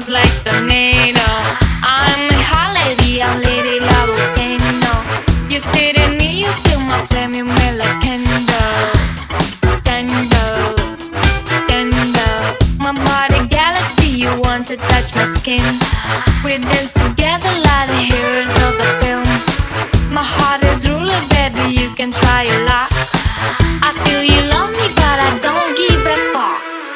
moves like tornado. I'm a hot lady, a lady la volcano. You sit in me, you feel my flame, you melt like candle. Candle, candle. My body galaxy, you want to touch my skin. We dance together like the heroes of the film. My heart is ruler, baby, you can try your luck. I feel you love me, but I don't give a fuck.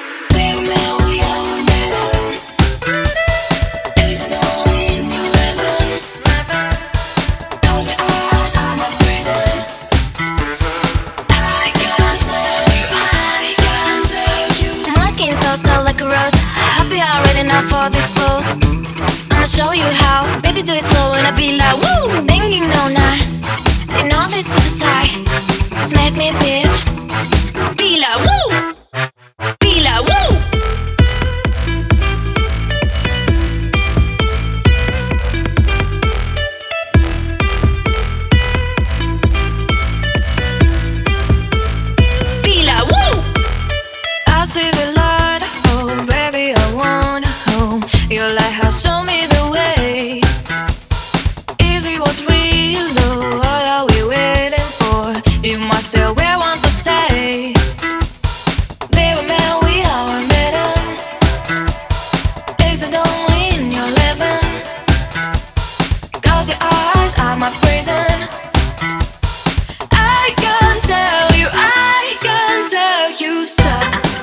For this pose, I'ma show you how. Baby, do it slow and I be like woo, banging all night. You know this pussy tight, smack me, bitch. Be like woo, be like woo. Be like woo. I see the light, oh baby, I wanna. Your lighthouse show me the way. Easy was real though. What are we waiting for? You must say we want to say. They were men, we are better. Exit only in your living. Cause your eyes are my prison. I can't tell you stop.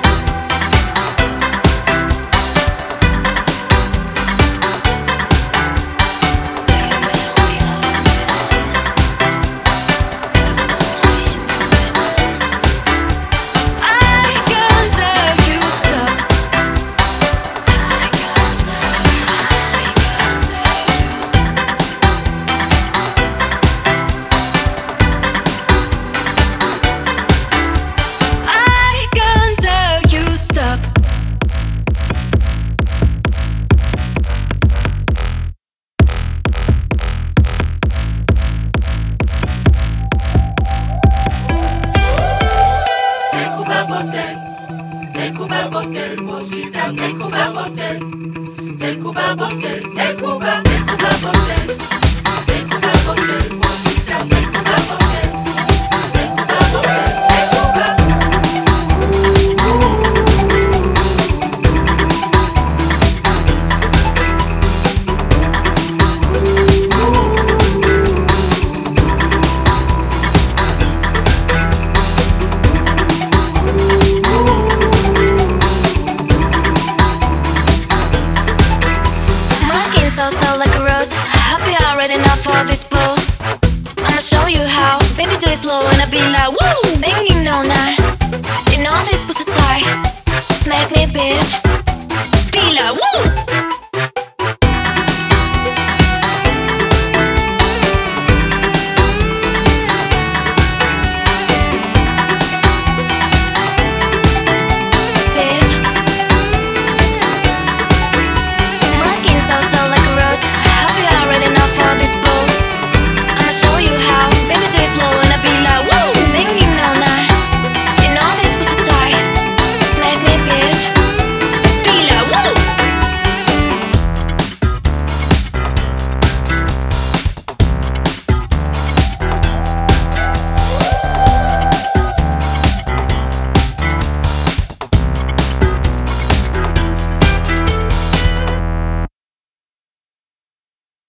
So like a rose. I hope you're already enough for this pose. I'ma show you how. Baby, do it slow and I be like woo, banging all night. You know this pussy tight, smack me, bitch.